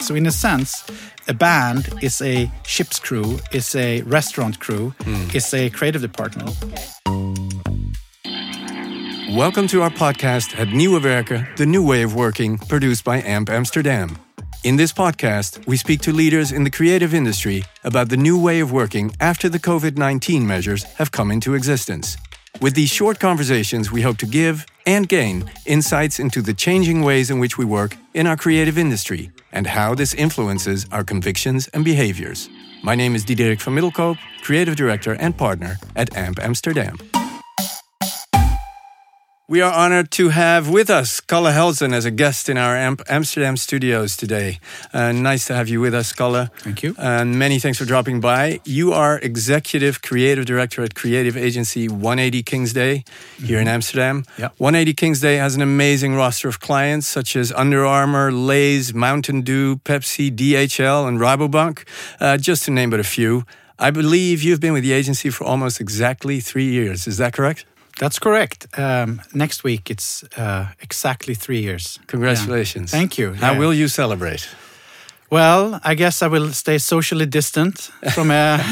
So in a sense, a band is a ship's crew, is a restaurant crew, is a creative department. Welcome to our podcast at Nieuwe Werken, the new way of working, produced by AMP Amsterdam. In this podcast, we speak to leaders in the creative industry about the new way of working after the COVID-19 measures have come into existence. With these short conversations, we hope to give and gain insights into the changing ways in which we work in our creative industry and how this influences our convictions and behaviors. My name is Diederik van Middelkoop, Creative Director and Partner at AMP Amsterdam. We are honored to have with us Kalle Helzen as a guest in our AMP Amsterdam studios today. Nice to have you with us, Kalle. Thank you. And many thanks for dropping by. You are Executive Creative Director at creative agency 180 Kingsday here in Amsterdam. Yep. 180 Kingsday has an amazing roster of clients such as Under Armour, Lay's, Mountain Dew, Pepsi, DHL, and Rabobank, just to name but a few. I believe you've been with the agency for almost exactly 3 years. Is that correct? That's correct. Next week, it's exactly 3 years. Congratulations. Yeah. Thank you. How will you celebrate? Well, I guess I will stay socially distant from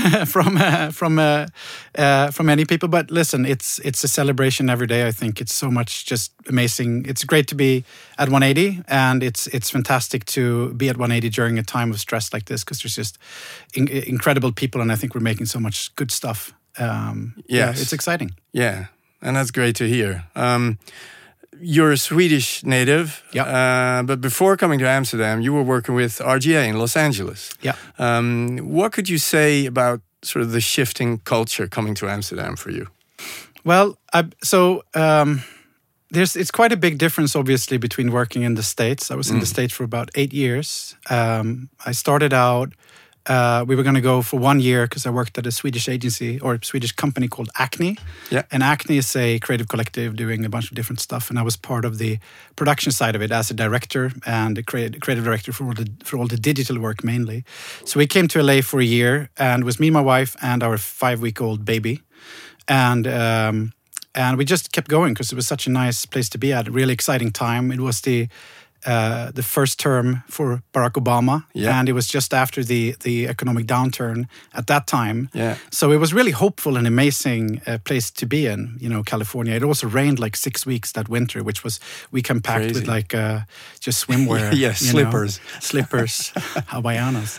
many people. But listen, it's a celebration every day. I think it's so much just amazing. It's great to be at 180, and it's fantastic to be at 180 during a time of stress like this, because there's just incredible people, and I think we're making so much good stuff. Yeah, it's exciting. Yeah. And that's great to hear. You're a Swedish native, but before coming to Amsterdam, you were working with RGA in Los Angeles. Yeah. What could you say about sort of the shifting culture coming to Amsterdam for you? Well, it's quite a big difference, obviously, between working in the States. I was in the States for about 8 years. I started out. We were going to go for 1 year because I worked at a Swedish agency or a Swedish company called Acne. Yeah. And Acne is a creative collective doing a bunch of different stuff. And I was part of the production side of it as a director and a creative director for all the digital work mainly. So we came to LA for a year, and it was me, my wife, and our 5-week-old baby. And we just kept going because it was such a nice place to be at, a really exciting time. It was the first term for Barack Obama, and it was just after the economic downturn at that time. Yeah. So it was really hopeful and amazing place to be in, California. It also rained like 6 weeks that winter, which was, we came packed with like just swimwear. Slippers. Slippers, Hawaiianas.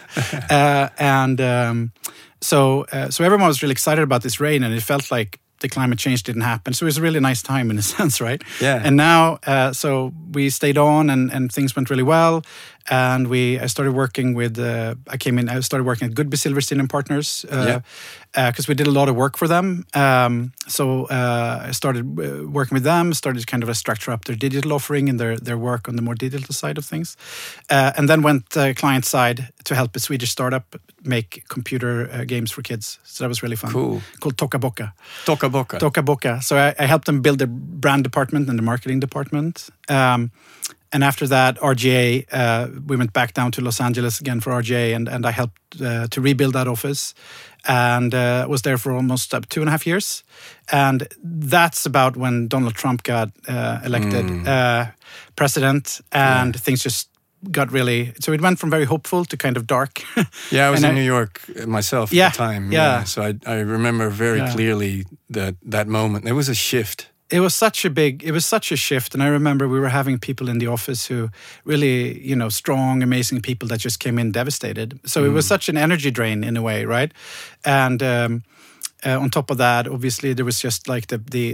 So everyone was really excited about this rain, and it felt like the climate change didn't happen. So it was a really nice time in a sense, right? Yeah. And now, so we stayed on and things went really well. And I started working with, I started working at Goodby Silverstein and Partners because we did a lot of work for them. So I started working with them, started kind of structure up their digital offering and their work on the more digital side of things. And then went client side to help a Swedish startup make computer games for kids. So that was really fun. Cool. Called Toca Boca. Toca Boca. Toca Boca. So I helped them build the brand department and the marketing department. And after that, RGA, we went back down to Los Angeles again for RGA, and I helped to rebuild that office, and was there for almost 2.5 years. And that's about when Donald Trump got elected president, and things just got really... So it went from very hopeful to kind of dark. Yeah, I was in New York myself at the time. Yeah. So I remember very clearly that moment. There was a shift. It was such a shift. And I remember we were having people in the office who really, strong, amazing people that just came in devastated. So it was such an energy drain in a way, right? And on top of that, obviously, there was just like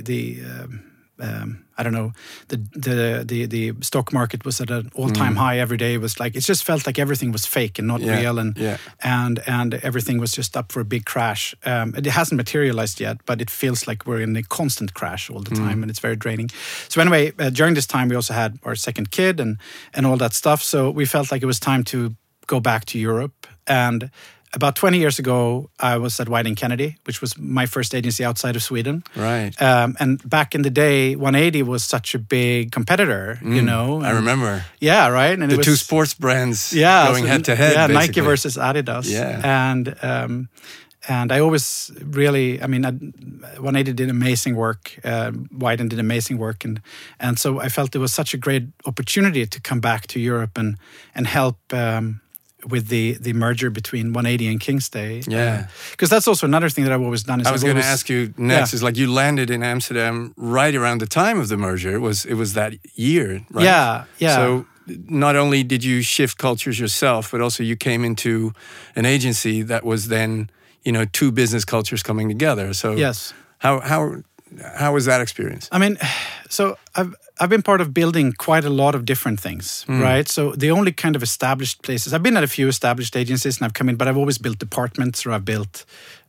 I don't know, the stock market was at an all-time high every day. It was like, it just felt like everything was fake and not real, and everything was just up for a big crash. It hasn't materialized yet, but it feels like we're in a constant crash all the time, and it's very draining. So anyway, during this time, we also had our second kid and all that stuff. So we felt like it was time to go back to Europe. And about 20 years ago, I was at Whiting Kennedy, which was my first agency outside of Sweden. Right. And back in the day, 180 was such a big competitor, I remember. Yeah, right. And the two sports brands going head to head. Yeah, basically. Nike versus Adidas. Yeah. And I always really, 180 did amazing work. Whiting did amazing work. And so I felt it was such a great opportunity to come back to Europe and help with the merger between 180 and Kingstay. Yeah. Because that's also another thing that I've always done. Is I was going to ask you next, is like you landed in Amsterdam right around the time of the merger. It was that year, right? Yeah. So not only did you shift cultures yourself, but also you came into an agency that was then, two business cultures coming together. So yes. How was that experience? I mean, so I've been part of building quite a lot of different things, right? So the only kind of established places, I've been at a few established agencies and I've come in, but I've always built departments, or I've built,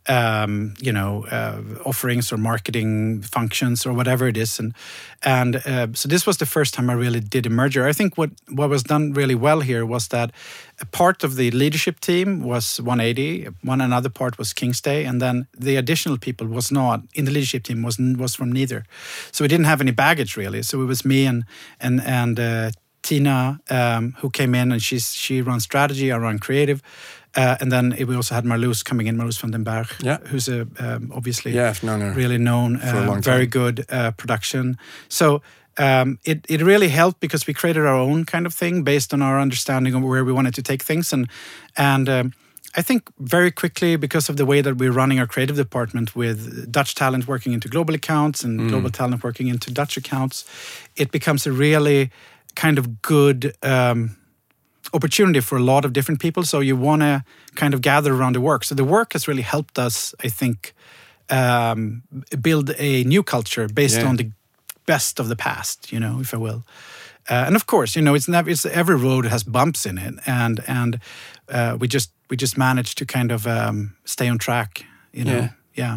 offerings or marketing functions or whatever it is. And so this was the first time I really did a merger. I think what was done really well here was that a part of the leadership team was 180, another part was Kingstay, and then the additional people was not in the leadership team was from neither. So we didn't have any baggage really. So it was me and Tina, who came in, and she runs strategy, I run creative. And then we also had Marloes coming in, Marloes van den Berg, who's obviously really known, very good production. So it really helped because we created our own kind of thing based on our understanding of where we wanted to take things. And I think very quickly, because of the way that we're running our creative department with Dutch talent working into global accounts and global talent working into Dutch accounts, it becomes a really kind of good opportunity for a lot of different people. So you want to kind of gather around the work. So the work has really helped us, I think, build a new culture based on the best of the past, if I will. And of course, it's every road has bumps in it, and we just managed to kind of stay on track, Yeah.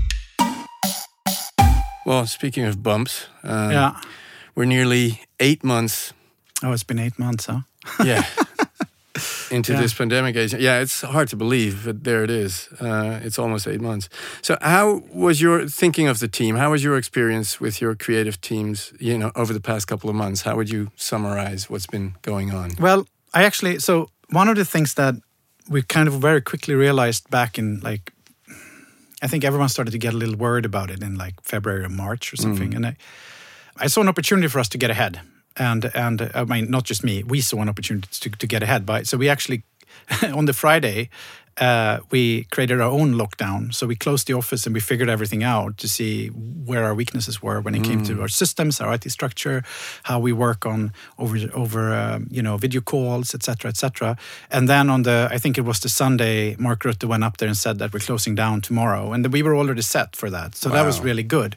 Well, speaking of bumps, we're nearly 8 months. Oh, it's been 8 months, huh? Yeah. Into this pandemic age. Yeah, it's hard to believe, but there it is. It's almost 8 months. So how was your thinking of the team? How was your experience with your creative teams, over the past couple of months? How would you summarize what's been going on? Well, so one of the things that we kind of very quickly realized back in I think everyone started to get a little worried about it in February or March or something. And I saw an opportunity for us to get ahead. And I mean, not just me, we saw an opportunity to get ahead. So we actually, on the Friday, we created our own lockdown. So we closed the office and we figured everything out to see where our weaknesses were when it came to our systems, our IT structure, how we work on over video calls, etc., etc. And then I think it was the Sunday, Mark Rutte went up there and said that we're closing down tomorrow, and we were already set for that. So that was really good.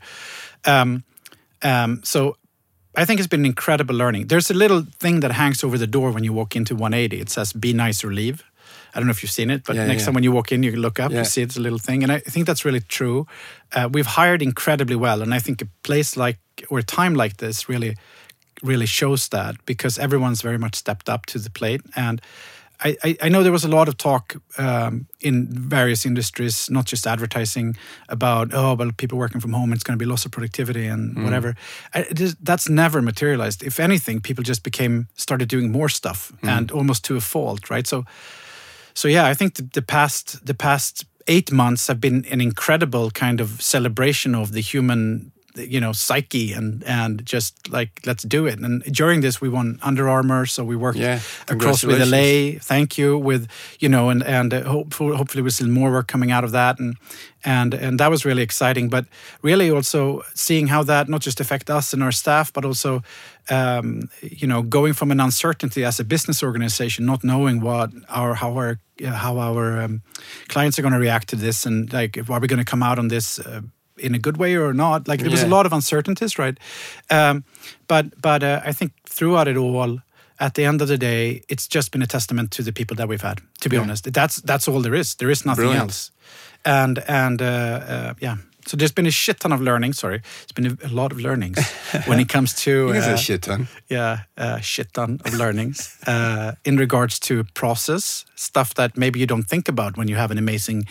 So I think it's been incredible learning. There's a little thing that hangs over the door when you walk into 180. It says, "Be nice or leave." I don't know if you've seen it, but next time when you walk in, you can look up, you see it's a little thing. And I think that's really true. We've hired incredibly well. And I think a place or a time like this really, really shows that, because everyone's very much stepped up to the plate. And I know there was a lot of talk in various industries, not just advertising, about, people working from home, it's going to be loss of productivity and whatever. That's never materialized. If anything, people just started doing more stuff and almost to a fault, right? So I think the past 8 months have been an incredible kind of celebration of the human psyche and just let's do it. And during this, we won Under Armour, so we worked across with LA. Thank you, with and hopefully we see more work coming out of that, and that was really exciting. But really also seeing how that not just affect us and our staff, but also going from an uncertainty as a business organization, not knowing how our clients are going to react to this, and are we going to come out on this in a good way or not? There was a lot of uncertainties, right? But I think throughout it all, at the end of the day, it's just been a testament to the people that we've had. To be honest, that's all there is. There is nothing else. And So there's been a shit ton of learning. Sorry, it's been a lot of learnings when it comes to a shit ton. Yeah, shit ton of learnings in regards to process stuff that maybe you don't think about when you have an amazing,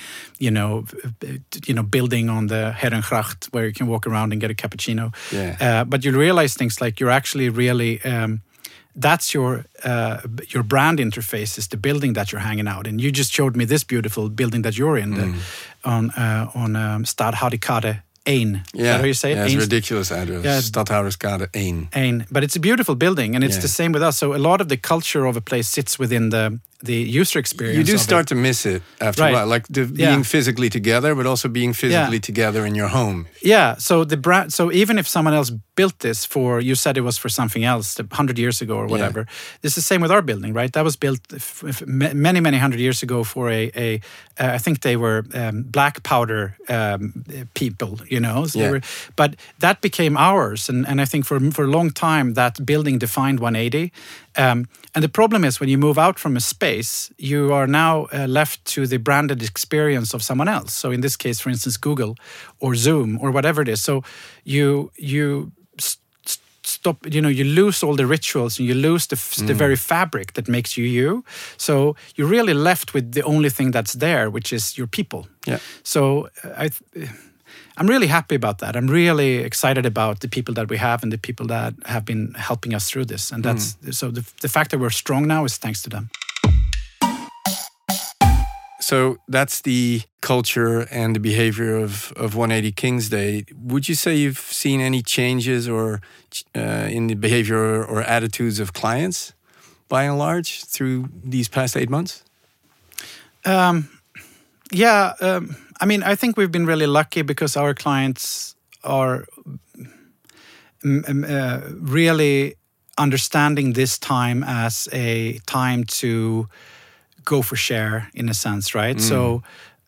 building on the Herengracht where you can walk around and get a cappuccino. Yeah. But you realize things like you're actually really. That's your brand interface is the building that you're hanging out in. You just showed me this beautiful building that you're in on Stadhouderskade 1. Is that how you say it? Yeah, it's a ridiculous address. Yeah, Stadhouderskade 1. But it's a beautiful building, and it's the same with us. So a lot of the culture of a place sits within the user experience. You do start to miss it after a while, like being physically together, but also being physically together in your home. Yeah. So the brand. So even if someone else built this for, you said it was for something else 100 years ago or whatever. It's the same with our building, right? That was built many 100 years ago for I think they were black powder people, you know. So but that became ours, and I think for a long time that building defined 180. And the problem is when you move out from a space, you are now left to the branded experience of someone else. So in this case, for instance, Google or Zoom or whatever it is. So you stop, you know, you lose all the rituals and you lose the very fabric that makes you. So you're really left with the only thing that's there, which is your people. Yeah. So I'm really happy about that. I'm really excited about the people that we have and the people that have been helping us through this. And that's so the fact that we're strong now is thanks to them. So that's the culture and the behavior of 180 Kingsday. Would you say you've seen any changes or in the behavior or attitudes of clients, by and large, through these past 8 months? I mean, I think we've been really lucky because our clients are really understanding this time as a time to go for share, in a sense, right? So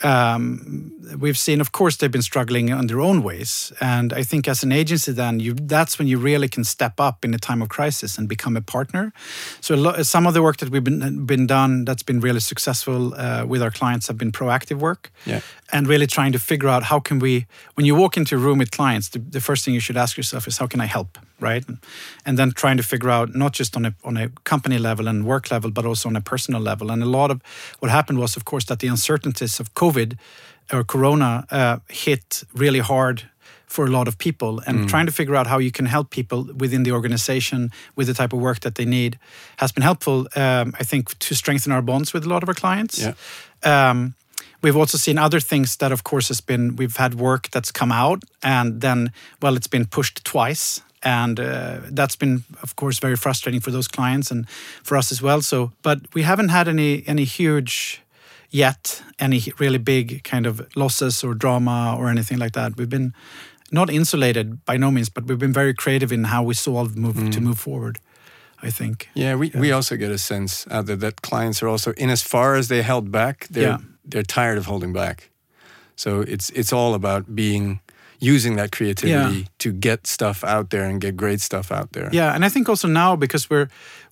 we've seen, of course, they've been struggling in their own ways. And I think as an agency then, that's when you really can step up in a time of crisis and become a partner. So some of the work that we've been done that's been really successful with our clients have been proactive work. Yeah. And really trying to figure out how can we, when you walk into a room with clients, the first thing you should ask yourself is how can I help, right? And then trying to figure out not just on a company level and work level, but also on a personal level. And a lot of what happened was, of course, that the uncertainties of COVID or Corona hit really hard for a lot of people, and trying to figure out how you can help people within the organization with the type of work that they need has been helpful, I think, to strengthen our bonds with a lot of our clients. Yeah. We've also seen other things that, of course, we've had work that's come out and then, it's been pushed twice. And that's been, of course, very frustrating for those clients and for us as well. So, but we haven't had any huge yet, any really big kind of losses or drama or anything like that. We've been not insulated by no means, but we've been very creative in how we to move forward, I think. Yeah, we also get a sense out there that clients are also, in as far as they held back, they're tired of holding back. So it's all about using that creativity to get stuff out there and get great stuff out there. Yeah, and I think also now, because we're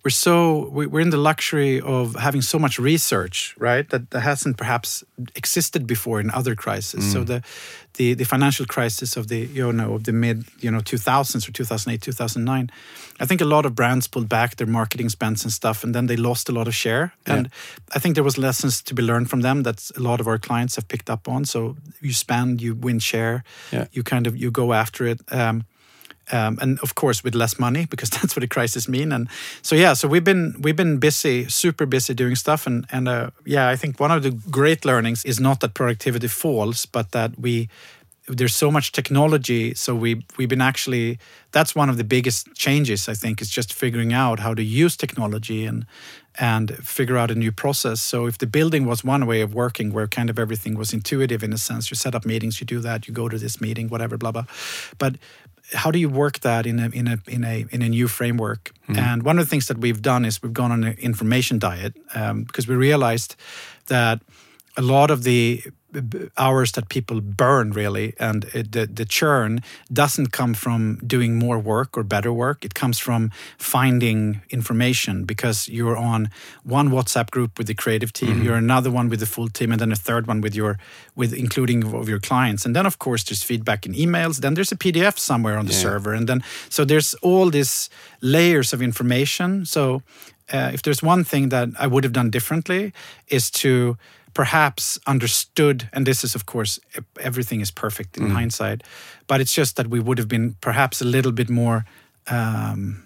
in the luxury of having so much research, right, that hasn't perhaps existed before in other crises. So the financial crisis of the mid 2000s or 2008, 2009, I think a lot of brands pulled back their marketing spends and stuff, and then they lost a lot of share. And I think there was lessons to be learned from them that a lot of our clients have picked up on. So you spend, you win share, you go after it. And of course with less money, because that's what a crisis means. And so we've been busy, super busy doing stuff. And I think one of the great learnings is not that productivity falls, but that there's so much technology. So we've been actually, that's one of the biggest changes, I think, is just figuring out how to use technology and figure out a new process. So if the building was one way of working where kind of everything was intuitive in a sense, you set up meetings, you do that, you go to this meeting, whatever, blah, blah. But how do you work that in a new framework? And one of the things that we've done is we've gone on an information diet because we realized that a lot of the hours that people burn really and the churn doesn't come from doing more work or better work. It comes from finding information, because you're on one WhatsApp group with the creative team, you're another one with the full team, and then a third one with including of your clients. And then of course there's feedback in emails, then there's a PDF somewhere on the server, and then so there's all these layers of information. So if there's one thing that I would have done differently is to perhaps understood, and this is, of course, everything is perfect in hindsight, but it's just that we would have been perhaps a little bit more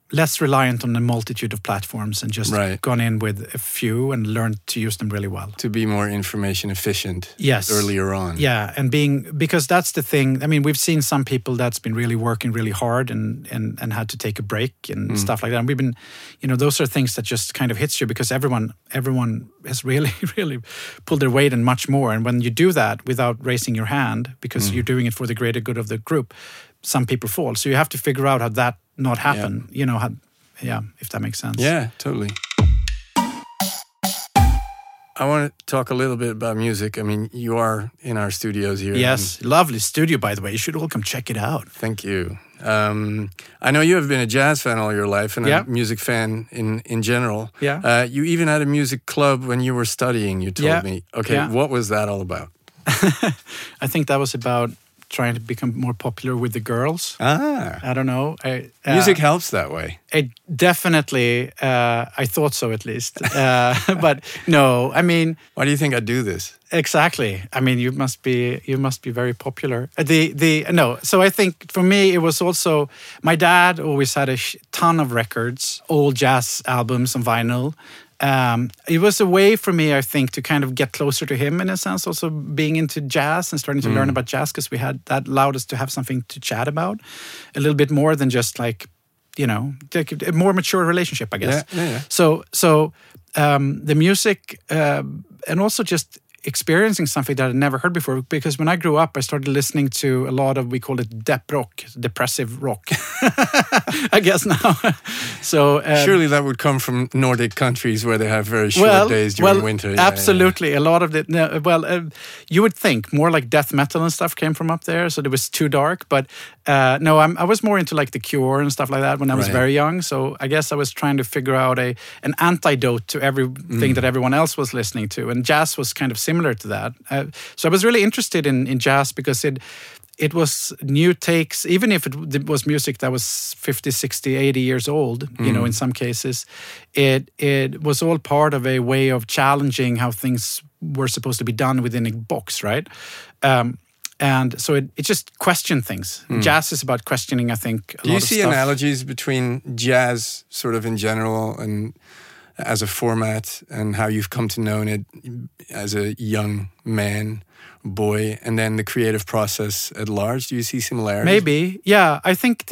less reliant on a multitude of platforms and just gone in with a few and learned to use them really well. To be more information efficient yes. earlier on. Yeah, and because that's the thing. I mean, we've seen some people that's been really working really hard and had to take a break and stuff like that. And we've been, those are things that just kind of hits you because everyone has really, really pulled their weight and much more. And when you do that without raising your hand, because you're doing it for the greater good of the group, some people fall. So you have to figure out how that not happen. If that makes sense. Yeah, totally. I want to talk a little bit about music. I mean, you are in our studios here. Yes, lovely studio, by the way. You should all come check it out. Thank you. I know you have been a jazz fan all your life and a music fan in general. Yeah. You even had a music club when you were studying, you told me. Okay, what was that all about? I think that was about trying to become more popular with the girls. I don't know. Music helps that way. It definitely, I thought so at least. But no, I mean... Why do you think I do this? Exactly. I mean, you must be very popular. So I think for me, it was also... My dad always had a ton of records, old jazz albums on vinyl. It was a way for me, I think, to kind of get closer to him in a sense, also being into jazz and starting to learn about jazz because that allowed us to have something to chat about a little bit more than just like, a more mature relationship, I guess. Yeah. So the music and also just experiencing something that I'd never heard before, because when I grew up, I started listening to a lot of, we call it dep rock, depressive rock, I guess now. So surely that would come from Nordic countries where they have very short days during winter. Absolutely. Yeah. A lot of it. You would think more like death metal and stuff came from up there, so it was too dark. But no, I was more into like The Cure and stuff like that when I was very young. So I guess I was trying to figure out an antidote to everything that everyone else was listening to, and jazz was kind of similar to that. So I was really interested in jazz because it was new takes, even if it was music that was 50, 60, 80 years old, in some cases. It was all part of a way of challenging how things were supposed to be done within a box, right? And so it just questioned things. Jazz is about questioning, I think, a lot of stuff. Do you see analogies between jazz sort of in general and as a format and how you've come to know it as a young boy, and then the creative process at large? Do you see similarities? Maybe, yeah. I think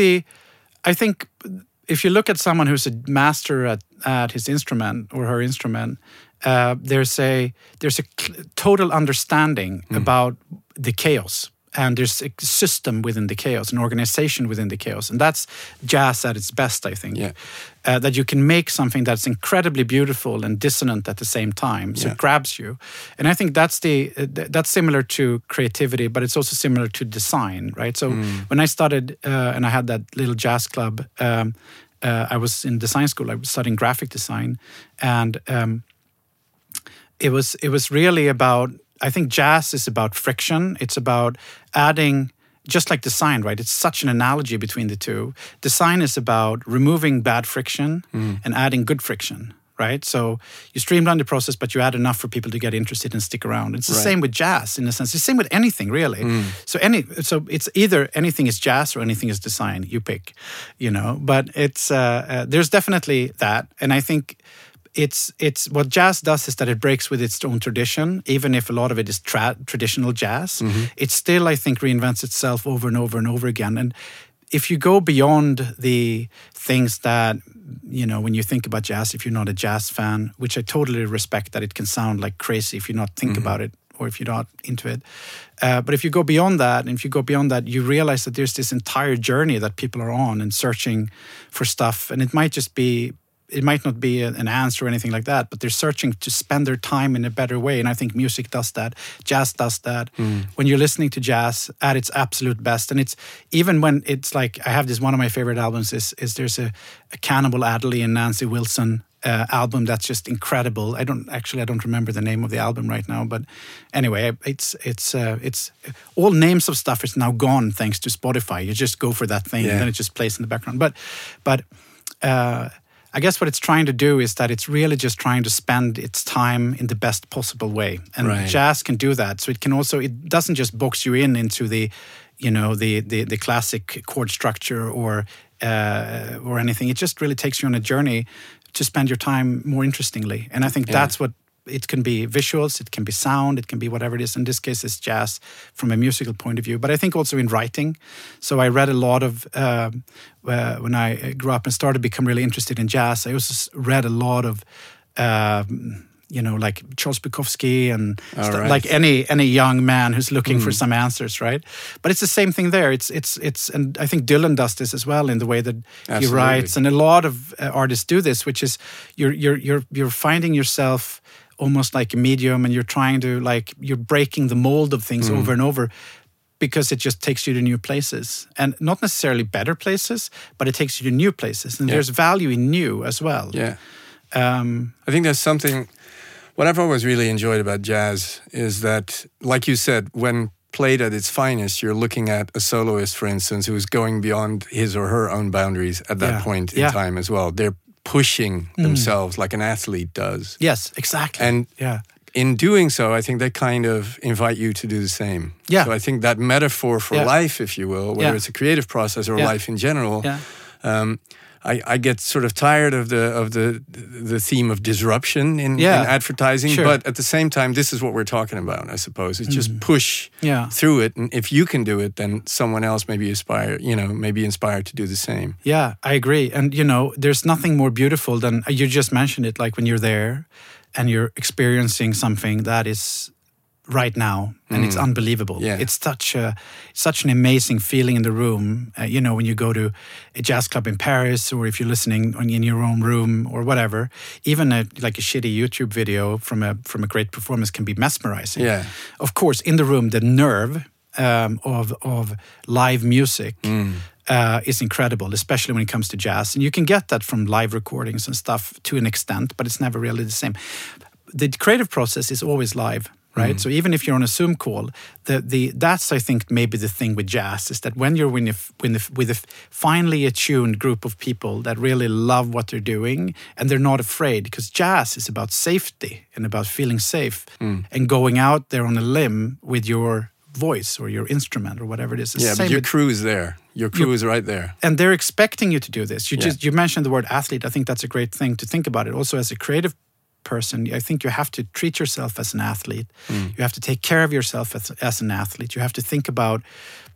if you look at someone who's a master at his instrument or her instrument, there's a total understanding about the chaos. And there's a system within the chaos, an organization within the chaos. And that's jazz at its best, I think. Yeah. That you can make something that's incredibly beautiful and dissonant at the same time. So it grabs you. And I think that's similar to creativity, but it's also similar to design, right? So when I started and I had that little jazz club, I was in design school. I was studying graphic design. And it was really about... I think jazz is about friction. It's about adding, just like design, right? It's such an analogy between the two. Design is about removing bad friction and adding good friction, right? So you streamline the process, but you add enough for people to get interested and stick around. It's the same with jazz, in a sense. It's the same with anything, really. So it's either anything is jazz or anything is design. You pick, But it's there's definitely that, and I think. It's what jazz does is that it breaks with its own tradition, even if a lot of it is traditional jazz. It still, I think, reinvents itself over and over and over again. And if you go beyond the things that, when you think about jazz, if you're not a jazz fan, which I totally respect that it can sound like crazy if you not think about it or if you're not into it. But if you go beyond that, you realize that there's this entire journey that people are on and searching for stuff. And it might not be an answer or anything like that, but they're searching to spend their time in a better way. And I think music does that. Jazz does that. When you're listening to jazz at its absolute best. And it's even when it's like, I have this, one of my favorite albums is there's a Cannibal Adderley and Nancy Wilson album that's just incredible. I don't remember the name of the album right now, but anyway, it's all names of stuff is now gone thanks to Spotify. You just go for that thing and then it just plays in the background. But I guess what it's trying to do is that it's really just trying to spend its time in the best possible way. And jazz can do that. So it doesn't just box you into the, the classic chord structure or anything. It just really takes you on a journey to spend your time more interestingly. And I think that's what it can be. Visuals, it can be sound, it can be whatever it is. In this case, it's jazz from a musical point of view. But I think also in writing. So I read a lot of, when I grew up and started to become really interested in jazz, I also read a lot of, like Charles Bukowski and like any young man who's looking for some answers, right? But it's the same thing there. It's and I think Dylan does this as well in the way that he writes, and a lot of artists do this, which is you're finding yourself almost like a medium, and you're trying to you're breaking the mold of things over and over. Because it just takes you to new places. And not necessarily better places, but it takes you to new places. And there's value in new as well. Yeah. I think there's something... What I've always really enjoyed about jazz is that, like you said, when played at its finest, you're looking at a soloist, for instance, who's going beyond his or her own boundaries at that point in time as well. They're pushing themselves like an athlete does. Yes, exactly. And in doing so, I think they kind of invite you to do the same. Yeah. So I think that metaphor for life, if you will, whether it's a creative process or life in general, I get sort of tired of the theme of disruption in advertising, but at the same time, this is what we're talking about, I suppose. It's just push through it, and if you can do it, then someone else may be inspired to do the same. Yeah, I agree. And there's nothing more beautiful than you just mentioned it, like when you're there and you're experiencing something that is right now, and it's unbelievable. Yeah. It's such an amazing feeling in the room. When you go to a jazz club in Paris, or if you're listening in your own room or whatever, even a shitty YouTube video from a great performance can be mesmerizing. Yeah. Of course, in the room, the nerve of live music is incredible, especially when it comes to jazz. And you can get that from live recordings and stuff to an extent, but it's never really the same. The creative process is always live. Right, so even if you're on a Zoom call, that's I think maybe the thing with jazz is that when you're with a finely attuned group of people that really love what they're doing and they're not afraid, because jazz is about safety and about feeling safe and going out there on a limb with your voice or your instrument or whatever it is. Yeah, but your crew is there. Your crew is right there, and they're expecting you to do this. You mentioned the word athlete. I think that's a great thing to think about it. Also, as a creative person, I think you have to treat yourself as an athlete. You have to take care of yourself as an athlete. You have to think about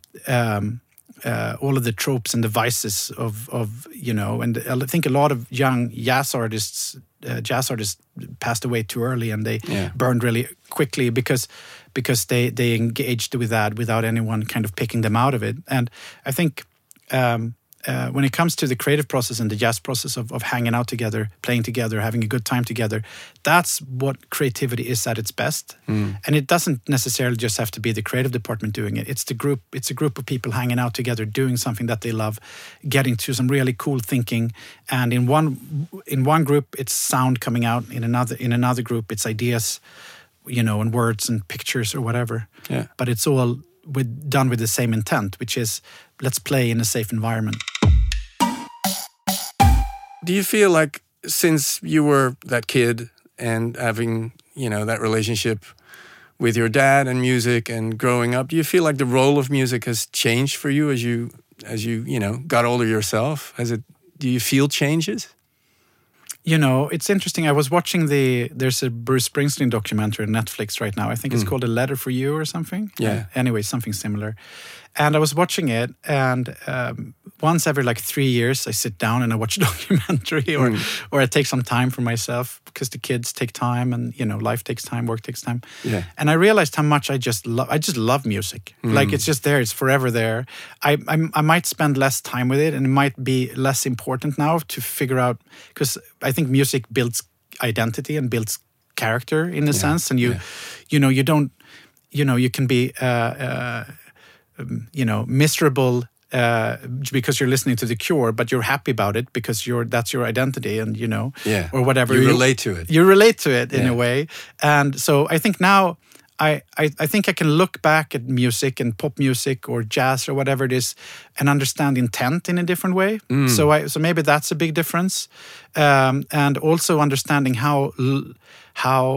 all of the tropes and the vices of and I think a lot of young jazz artists passed away too early, and they burned really quickly because they engaged with that without anyone kind of picking them out of it. And I think when it comes to the creative process and the jazz process of hanging out together, playing together, having a good time together, that's what creativity is at its best. And it doesn't necessarily just have to be the creative department doing it. It's a group of people hanging out together, doing something that they love, getting to some really cool thinking. And in one group, it's sound coming out. In another group, it's ideas, and words and pictures or whatever. Yeah. But it's all done with the same intent, which is let's play in a safe environment. Do you feel like since you were that kid and having, that relationship with your dad and music and growing up, do you feel like the role of music has changed for you as you got older yourself? Do you feel changes? It's interesting. I was watching there's a Bruce Springsteen documentary on Netflix right now. I think it's called A Letter for You or something. Yeah. Anyway, something similar. And I was watching it, and once every 3 years, I sit down and I watch a documentary, or I take some time for myself, because the kids take time, and life takes time, work takes time. Yeah. And I realized how much I just love music. It's just there; it's forever there. I might spend less time with it, and it might be less important now to figure out, because I think music builds identity and builds character in a sense, and you don't, you can be. Miserable because you're listening to The Cure, but you're happy about it because that's your identity, and or whatever. You relate to it. You relate to it in a way, and so I think now I think I can look back at music and pop music or jazz or whatever it is and understand intent in a different way. So maybe that's a big difference, and also understanding how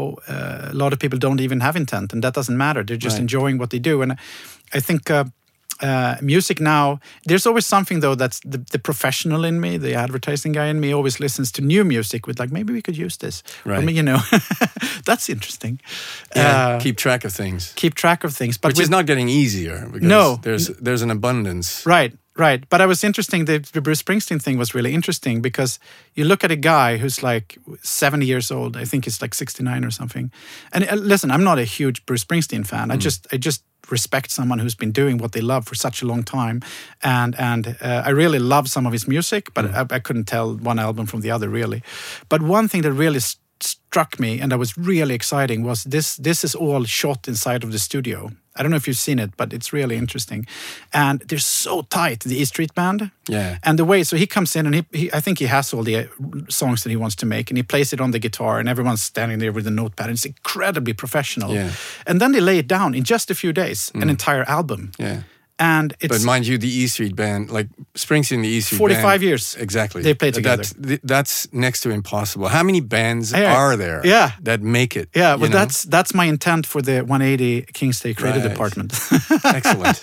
a lot of people don't even have intent, and that doesn't matter. They're just enjoying what they do. And I think music now, there's always something though that's the professional in me, the advertising guy in me always listens to new music with like, maybe we could use this. Right. I mean, that's interesting. Keep track of things. But which is not getting easier because there's an abundance. Right. But I was interesting, the Bruce Springsteen thing was really interesting because you look at a guy who's like 70 years old, I think he's like 69 or something. And listen, I'm not a huge Bruce Springsteen fan. I just respect someone who's been doing what they love for such a long time. And I really love some of his music, but I couldn't tell one album from the other really. But one thing that really struck me and that was really exciting was this is all shot inside of the studio. I don't know if you've seen it, but it's really interesting. And they're so tight, the E Street Band. Yeah. And the way, so he comes in and I think he has all the songs that he wants to make and he plays it on the guitar and everyone's standing there with a notepad and it's incredibly professional. Yeah. And then they lay it down in just a few days, an entire album. Yeah. And it's, but mind you, the E Street Band, like Springsteen, the E Street 45 Band, years. Exactly. They play together. That's next to impossible. How many bands are there that make it? Yeah, but that's my intent for the 180 King's Day Creative Department. Excellent.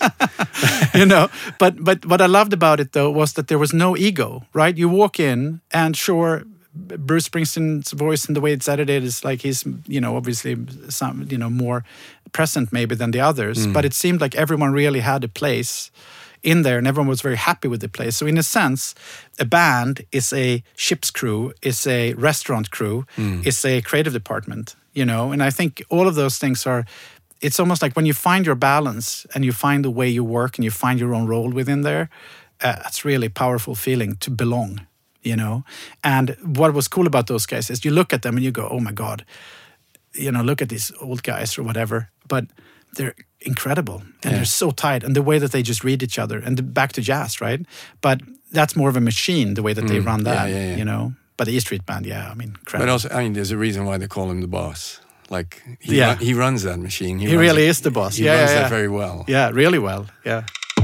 But what I loved about it, though, was that there was no ego, right? You walk in and sure, Bruce Springsteen's voice and the way it's edited is like he's, obviously some, more present maybe than the others. But it seemed like everyone really had a place in there and everyone was very happy with the place. So in a sense, a band is a ship's crew, is a restaurant crew, is a creative department, And I think all of those things it's almost like when you find your balance and you find the way you work and you find your own role within there, it's really a powerful feeling to belong. And what was cool about those guys is you look at them and you go, oh my God, look at these old guys or whatever, but they're incredible and they're so tight and the way that they just read each other and back to jazz, right? But that's more of a machine, the way that they run that, But the E Street Band, incredible. But also, there's a reason why they call him the boss. Like, he runs that machine. He really is the boss. He runs that very well. Yeah, really well, yeah.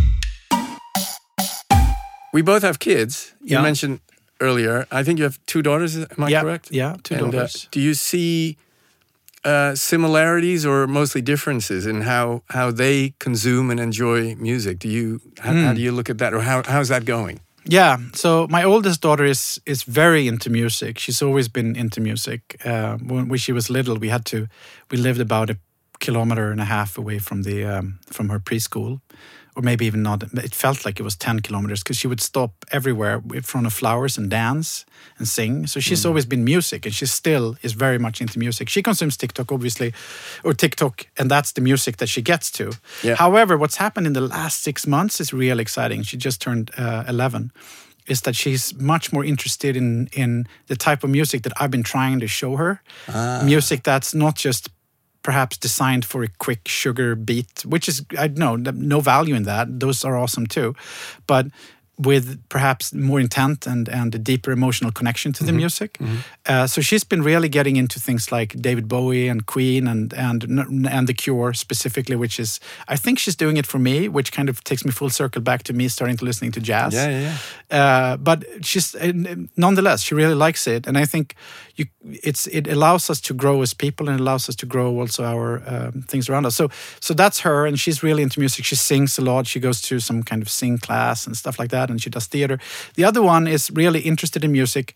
We both have kids. You mentioned earlier, I think you have 2 daughters, am I correct? Yeah, 2 daughters. Do you see similarities or mostly differences in how they consume and enjoy music? How do you look at that, or how's that going? Yeah, so my oldest daughter is very into music. She's always been into music. When she was little, we lived about 1.5 kilometers away from her preschool. Or maybe even not. It felt like it was 10 kilometers because she would stop everywhere in front of flowers and dance and sing. So she's always been music and she still is very much into music. She consumes TikTok, obviously, and that's the music that she gets to. Yeah. However, what's happened in the last 6 months is really exciting. She just turned 11. Is that she's much more interested in the type of music that I've been trying to show her. Music that's not just perhaps designed for a quick sugar beat, which is, I know, no value in that. Those are awesome too. But with perhaps more intent and a deeper emotional connection to the music. So she's been really getting into things like David Bowie and Queen and The Cure specifically, which is, I think she's doing it for me, which kind of takes me full circle back to me starting to listening to jazz. But she's, nonetheless, she really likes it. And I think it allows us to grow as people and it allows us to grow also our things around us. So that's her, and she's really into music. She sings a lot. She goes to some kind of sing class and stuff like that, and she does theater. The other one is really interested in music.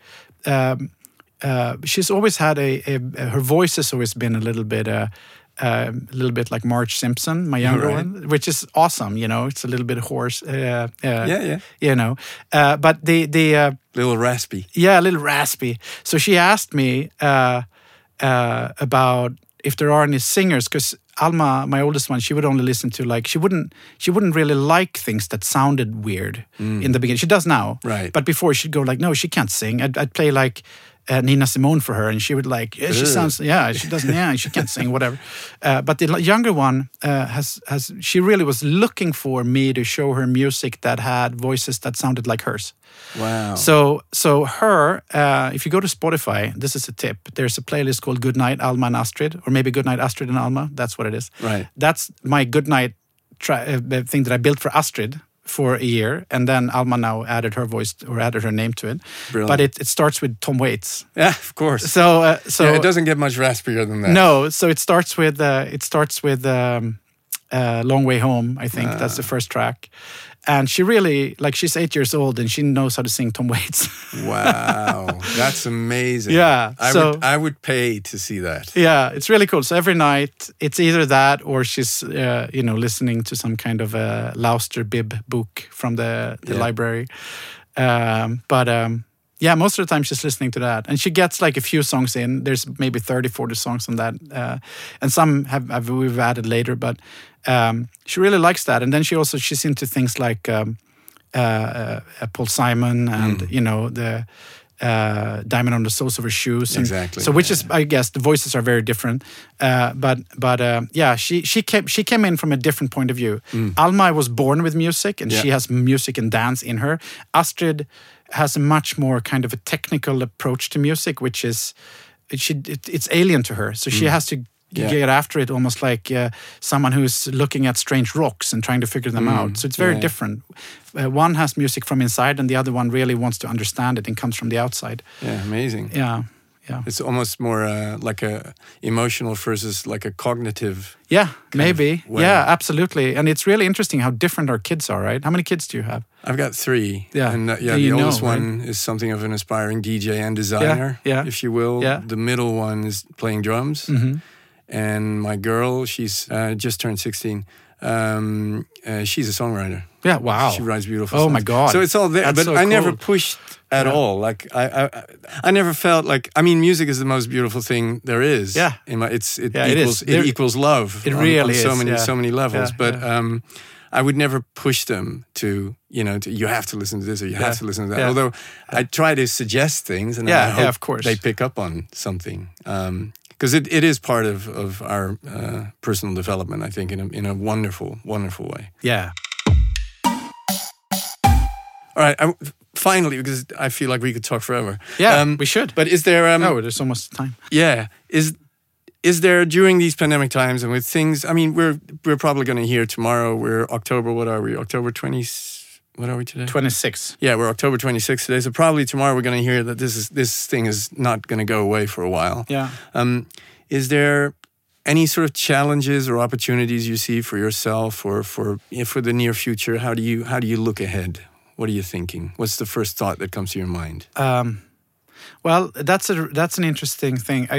She's always had her voice has always been a little bit like Marge Simpson, my younger one, which is awesome. It's a little bit hoarse. But the little raspy. Yeah, a little raspy. So she asked me about if there are any singers, because Alma, my oldest one, she would only listen to she wouldn't really like things that sounded weird in the beginning. She does now, right? But before she'd go no, she can't sing. I'd play Nina Simone for her, and she would she sounds, she doesn't, she can't sing, whatever. But the younger one she really was looking for me to show her music that had voices that sounded like hers. Wow. So her, if you go to Spotify, this is a tip. There's a playlist called Goodnight Alma and Astrid, or maybe Goodnight Astrid and Alma. That's what it is. Right. That's my Goodnight thing that I built for Astrid for a year, and then Alma now added her voice or added her name to it. Brilliant. But it starts with Tom Waits. Yeah, of course. So it doesn't get much raspier than that. No, so it starts with Long Way Home, I think. That's the first track. And she really, like, she's 8 years old and she knows how to sing Tom Waits. Wow, that's amazing. Yeah. I would pay to see that. Yeah, it's really cool. So every night, it's either that or she's, listening to some kind of a Lauster bib book from the library. Yeah, most of the time she's listening to that. And she gets like a few songs in. There's maybe 30, 40 songs on that. And some we've added later, but she really likes that. And then she's into things like Paul Simon and, the Diamond on the Soles of Her Shoes. And exactly. So which is, I guess, the voices are very different. She came in from a different point of view. Alma was born with music and she has music and dance in her. Astrid has a much more kind of a technical approach to music, which is it's alien to her. So she has to get after it almost like someone who's looking at strange rocks and trying to figure them out. So it's very different. One has music from inside and the other one really wants to understand it and comes from the outside. Yeah, amazing. Yeah. It's almost more like a emotional versus like a cognitive. Yeah, maybe. Yeah, absolutely. And it's really interesting how different our kids are, right? How many kids do you have? I've got 3. Yeah. And the oldest one is something of an aspiring DJ and designer, if you will. Yeah. The middle one is playing drums. Mm-hmm. And my girl, she's just turned 16. She's a songwriter. Yeah, wow. She writes beautiful songs. My God. So it's all there. That's I never pushed at all. Like I never felt like, I mean, music is the most beautiful thing there is. Yeah. It equals love. It really is. On so many levels. But I would never push them to, you have to listen to this or you have to listen to that. Although I try to suggest things and I hope of course. they pick up on something. Because it is part of our personal development, I think, in a wonderful, wonderful way. Yeah. All right. Finally, because I feel like we could talk forever. Yeah, we should. But is there... there's almost time. Yeah. Is there, during these pandemic times and with things... I mean, we're probably going to hear tomorrow, we're October, what are we? October 20th? What are we today? 26. Yeah, we're October 26th today. So probably tomorrow we're going to hear that this thing is not going to go away for a while. Yeah. Is there any sort of challenges or opportunities you see for yourself or for the near future? How do you look ahead? What are you thinking? What's the first thought that comes to your mind? Well, that's an interesting thing.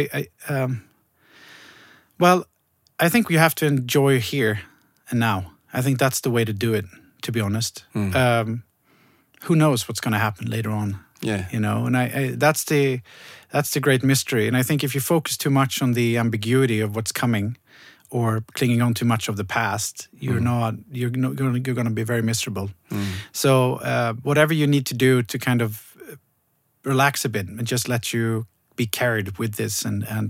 I think you have to enjoy here and now. I think that's the way to do it, to be honest. Who knows what's going to happen later on? Yeah. And that's the great mystery. And I think if you focus too much on the ambiguity of what's coming or clinging on too much of the past, you're going to be very miserable. So whatever you need to do to kind of relax a bit and just let you be carried with this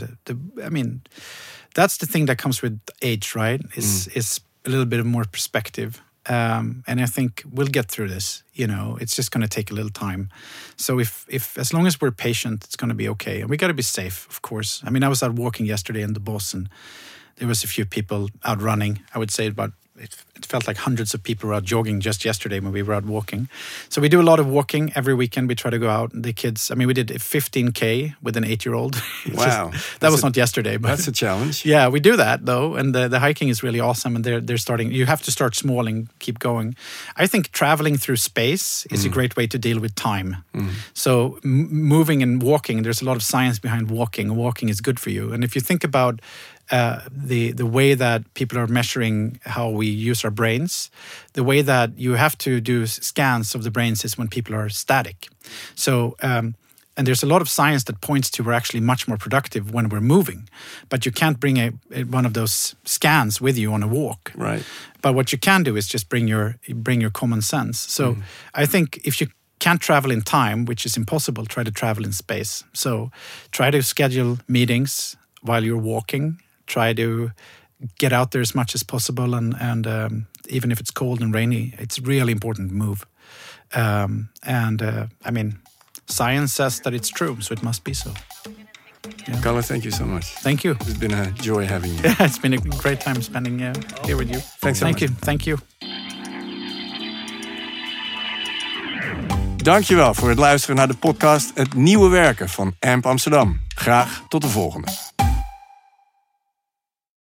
that's the thing that comes with age, right? Is a little bit of more perspective. And I think we'll get through this. It's just going to take a little time. So if as long as we're patient, it's going to be okay. And we got to be safe, of course. I mean, I was out walking yesterday in the Boss, and there was a few people out running. I would say it felt like hundreds of people were out jogging just yesterday when we were out walking. So we do a lot of walking every weekend. We try to go out. The kids, we did 15K with an 8-year-old. Wow. That was not yesterday. But that's a challenge. Yeah, we do that though. And the hiking is really awesome. And they're starting, you have to start small and keep going. I think traveling through space is a great way to deal with time. So moving and walking, there's a lot of science behind walking. Walking is good for you. And if you think about the way that people are measuring how we use our brains, the way that you have to do scans of the brains is when people are static. So, and there's a lot of science that points to we're actually much more productive when we're moving. But you can't bring one of those scans with you on a walk. Right. But what you can do is just bring your common sense. So I think if you can't travel in time, which is impossible, try to travel in space. So try to schedule meetings while you're walking. Try to get out there as much as possible, and even if it's cold and rainy, it's really important to move. Science says that it's true, so it must be so. Yeah. Kalle, thank you so much. Thank you. It's been a joy having you. Yeah, it's been a great time spending here with you. Thanks so much. Thank you. Dankjewel voor het luisteren naar de podcast Het Nieuwe Werken van AMP Amsterdam. Graag tot de volgende.